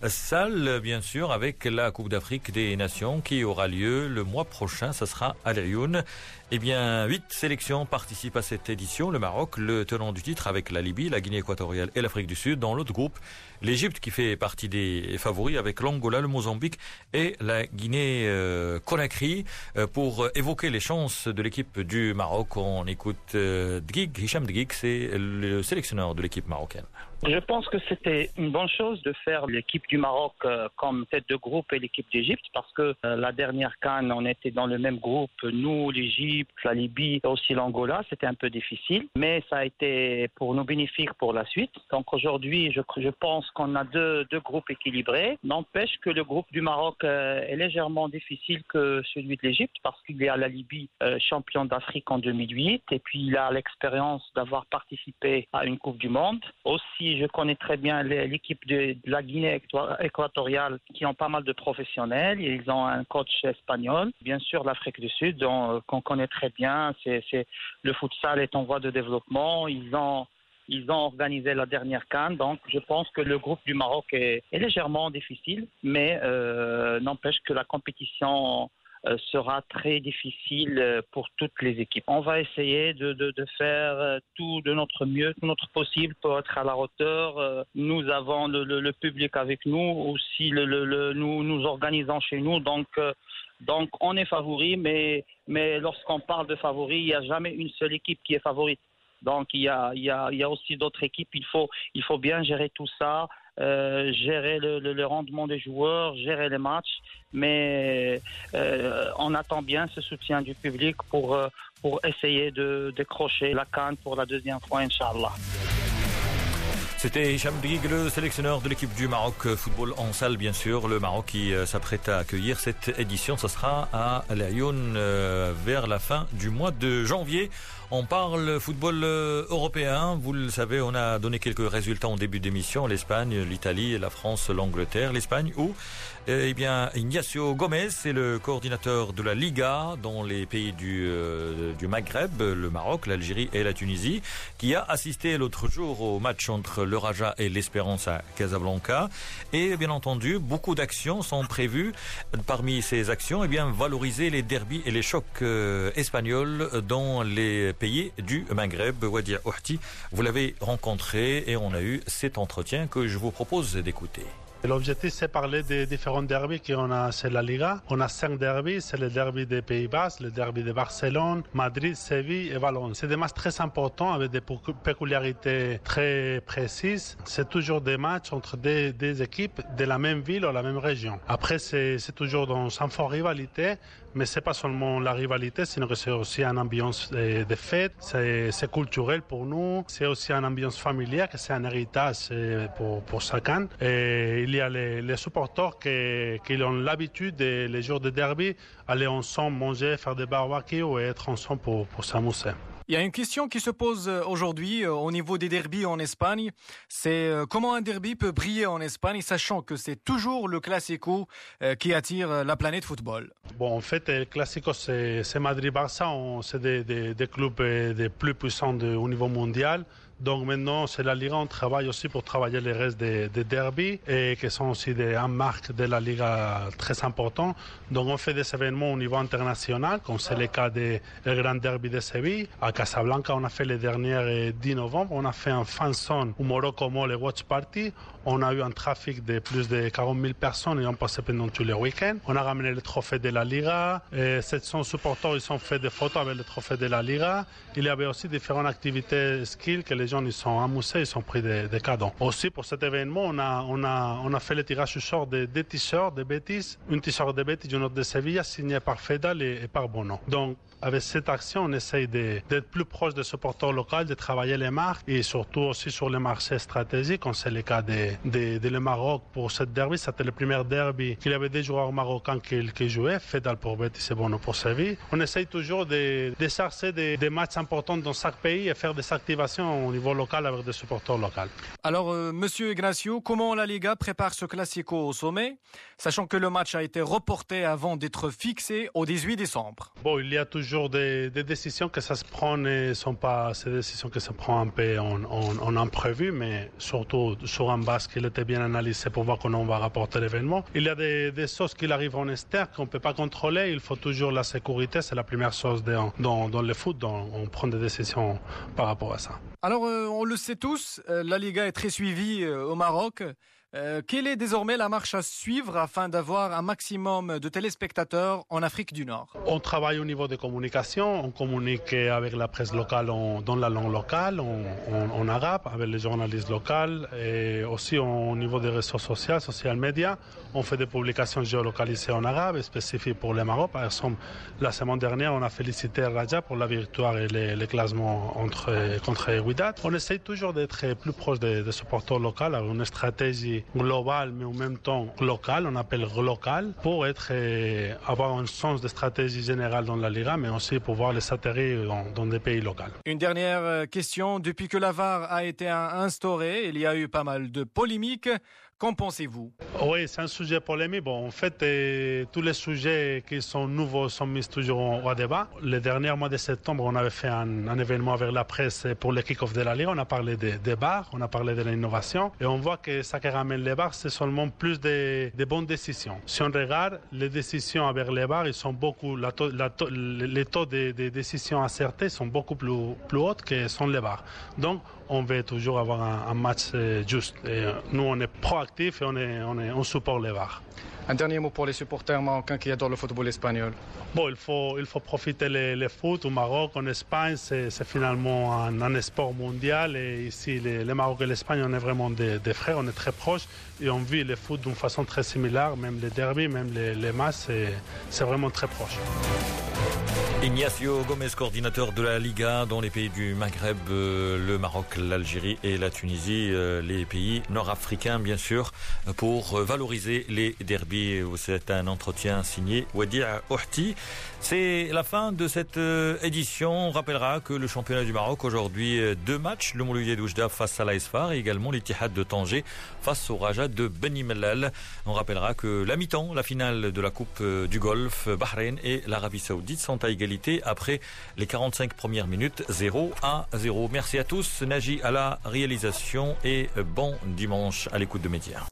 salle bien sûr, avec la Coupe d'Afrique des Nations qui aura lieu le mois prochain. Ça sera à l'Ayoun. Eh bien, huit sélections participent à cette édition. Le Maroc, le tenant du titre, avec la Libye, la Guinée équatoriale et l'Afrique du Sud. Dans l'autre groupe, l'Égypte qui fait partie des favoris avec l'Angola, le Mozambique et la Guinée-Conakry. Euh, pour évoquer les chances de l'équipe du Maroc, on écoute euh, Dgig, Hicham Dgig, c'est le sélectionneur de l'équipe marocaine. Je pense que c'était une bonne chose de faire l'équipe du Maroc euh, comme tête de groupe et l'équipe d'Égypte parce que euh, la dernière CAN, on était dans le même groupe, nous, l'Égypte, la Libye et aussi l'Angola. C'était un peu difficile, mais ça a été pour nous bénéfique pour la suite. Donc aujourd'hui, je, je pense qu'on a deux, deux groupes équilibrés. N'empêche que le groupe du Maroc euh, est légèrement difficile que celui de l'Égypte parce qu'il y a la Libye euh, champion d'Afrique en deux mille huit et puis il a l'expérience d'avoir participé à une Coupe du Monde. Aussi, je connais très bien l'équipe de la Guinée équatoriale qui ont pas mal de professionnels. Ils ont un coach espagnol. Bien sûr, l'Afrique du Sud, on, qu'on connaît très bien. C'est, c'est, le futsal est en voie de développement. Ils ont, ils ont organisé la dernière CAN. Donc, je pense que le groupe du Maroc est, est légèrement difficile, mais euh, n'empêche que la compétition sera très difficile pour toutes les équipes. On va essayer de, de, de faire tout de notre mieux, tout notre possible pour être à la hauteur. Nous avons le, le, le public avec nous, aussi le, le, le, nous nous organisons chez nous, donc, donc on est favori, mais, mais lorsqu'on parle de favori, il n'y a jamais une seule équipe qui est favorite. Donc il y a, il y a, il y a aussi d'autres équipes, il faut, il faut bien gérer tout ça. Euh, gérer le, le, le rendement des joueurs, gérer les matchs, mais euh, on attend bien ce soutien du public pour, euh, pour essayer de décrocher la CAN pour la deuxième fois, Inch'Allah. C'était Hicham Dgig, le sélectionneur de l'équipe du Maroc, football en salle bien sûr. Le Maroc qui euh, s'apprête à accueillir cette édition, ça sera à l'Ayoun euh, vers la fin du mois de janvier. On parle football euh, européen, vous le savez, on a donné quelques résultats en début d'émission. L'Espagne, l'Italie, la France, l'Angleterre. L'Espagne où euh, eh bien, Ignacio Gomez est le coordinateur de la Liga dans les pays du, euh, du Maghreb, le Maroc, l'Algérie et la Tunisie, qui a assisté l'autre jour au match entre le Raja et l'Espérance à Casablanca. Et bien entendu, beaucoup d'actions sont prévues. Parmi ces actions, eh bien, valoriser les derbys et les chocs euh, espagnols dans les pays du Maghreb. Wadia Ouhti, vous l'avez rencontré et on a eu cet entretien que je vous propose d'écouter. L'objectif, c'est parler des différents derbys qu'on a sur la Liga. On a cinq derbys, c'est le derby des Pays-Bas, le derby de Barcelone, Madrid, Séville et Valence. C'est des matchs très importants avec des peculiarités très précises. C'est toujours des matchs entre des, des équipes de la même ville ou la même région. Après, c'est, c'est toujours dans sans forte rivalité, mais c'est pas seulement la rivalité, sinon que c'est aussi une ambiance de, de fête, c'est, c'est culturel pour nous, c'est aussi une ambiance familiale, que c'est un héritage pour, pour chacun. Et il y a les, les supporters qui, qui ont l'habitude, de, les jours de derby, aller ensemble manger, faire des barbecues et être ensemble pour, pour s'amuser. Il y a une question qui se pose aujourd'hui au niveau des derbys en Espagne. C'est comment un derby peut briller en Espagne, sachant que c'est toujours le Classico qui attire la planète football. Bon, en fait, le Classico, c'est, c'est Madrid-Barça. C'est des, des, des clubs des plus puissants de, au niveau mondial. Donc maintenant, c'est la Liga, on travaille aussi pour travailler les restes des, des derbys et qui sont aussi des une marque de la Liga très important. Donc on fait des événements au niveau international, comme c'est le cas des grands derbys de Séville. À Casablanca, on a fait les derniers dix novembre, on a fait un fan zone au Morocco Mall et Watch Party. On a eu un trafic de plus de quarante mille personnes et on passait pendant tous les week-ends. On a ramené le trophée de la Liga. Et sept cents supporters, ils ont fait des photos avec le trophée de la Liga. Il y avait aussi différentes activités skills que les les gens ils sont amusés, ils ont pris des, des cadeaux. Aussi pour cet événement, on a, on a, on a fait le tirage au sort des, des t-shirts de Betis, une t-shirt de Betis, une autre de Sevilla, signée par Fedal et, et par Bono. Donc avec cette action, on essaye d'être plus proche des supporters locaux, de travailler les marques et surtout aussi sur les marchés stratégiques, comme c'est le cas de, de, de le Maroc pour cette derby. C'était le premier derby qu'il y avait des joueurs marocains qui, qui jouaient, Fedal pour Betis et Bono pour Séville. On essaye toujours de, de chercher des, des matchs importants dans chaque pays et faire des activations au niveau local avec des supporters locaux. Alors, euh, Monsieur Ignacio, comment la Liga prépare ce Classico au sommet, sachant que le match a été reporté avant d'être fixé au dix-huit décembre? Bon, il y a toujours Des, des décisions que ça se prend ne sont pas ces décisions que se prend un peu en, en, en imprévu, mais surtout sur un base qui était bien analysé pour voir comment on va rapporter l'événement. Il y a des, des choses qui arrivent en externe qu'on ne peut pas contrôler. Il faut toujours la sécurité, c'est la première chose de, dans, dans le foot. Donc on prend des décisions par rapport à ça. Alors, euh, on le sait tous, euh, la Liga est très suivie euh, au Maroc. Euh, quelle est désormais la marche à suivre afin d'avoir un maximum de téléspectateurs en Afrique du Nord? On travaille au niveau des communications, on communique avec la presse locale en, dans la langue locale, en, en, en arabe, avec les journalistes locaux et aussi au niveau des réseaux sociaux, social media. On fait des publications géolocalisées en arabe spécifiques pour le Maroc. Par exemple, la semaine dernière, on a félicité Raja pour la victoire et les, les classements entre, contre Wydad. On essaye toujours d'être plus proche des, des supporters locaux avec une stratégie global mais en même temps local, on appelle local, pour être, euh, avoir un sens de stratégie générale dans la Liga, mais aussi pouvoir les atterrir dans, dans des pays locaux. Une dernière question, depuis que la V A R a été instaurée, il y a eu pas mal de polémiques. Qu'en pensez-vous? Oui, c'est un sujet polémique. Bon, en fait, euh, tous les sujets qui sont nouveaux sont mis toujours au, au débat. Le dernier mois de septembre, on avait fait un, un événement avec la presse pour le kick-off de la Ligue. On a parlé des de bars, on a parlé de l'innovation. Et on voit que ça qui ramène les bars, c'est seulement plus de, de bonnes décisions. Si on regarde, les décisions avec les bars, ils sont beaucoup, la to, la to, les taux de, de décisions acertées sont beaucoup plus, plus hauts que sont les bars. Donc, on veut toujours avoir un, un match juste. Et nous, on est proactifs et on, est, on, est, on supporte les V A R. Un dernier mot pour les supporters marocains qui adorent le football espagnol. Bon, il faut, il faut profiter le, le foot au Maroc, en Espagne, c'est finalement un, un sport mondial. Et ici, les, le Maroc et l'Espagne, on est vraiment des, des frères, on est très proches. Et on vit le foot d'une façon très similaire, même les derbys, même les, les matchs, c'est vraiment très proche. Ignacio Gomez, coordinateur de la Liga dans les pays du Maghreb, euh, le Maroc, l'Algérie et la Tunisie, euh, les pays nord-africains bien sûr, pour euh, valoriser les derbys. C'est un entretien signé Wadi Ouhti. C'est la fin de cette euh, édition. On rappellera que le championnat du Maroc aujourd'hui, euh, deux matchs, le Mouloudia d'Oujda face à l'Aïsfar et également l'Ittihad de Tanger face au Raja de Beni Mellal. On rappellera que la mi-temps, la finale de la Coupe euh, du Golfe, Bahreïn et l'Arabie Saoudite sont à égalité après les quarante-cinq premières minutes, zéro à zéro. Merci à tous. Naji à la réalisation et bon dimanche à l'écoute de Média.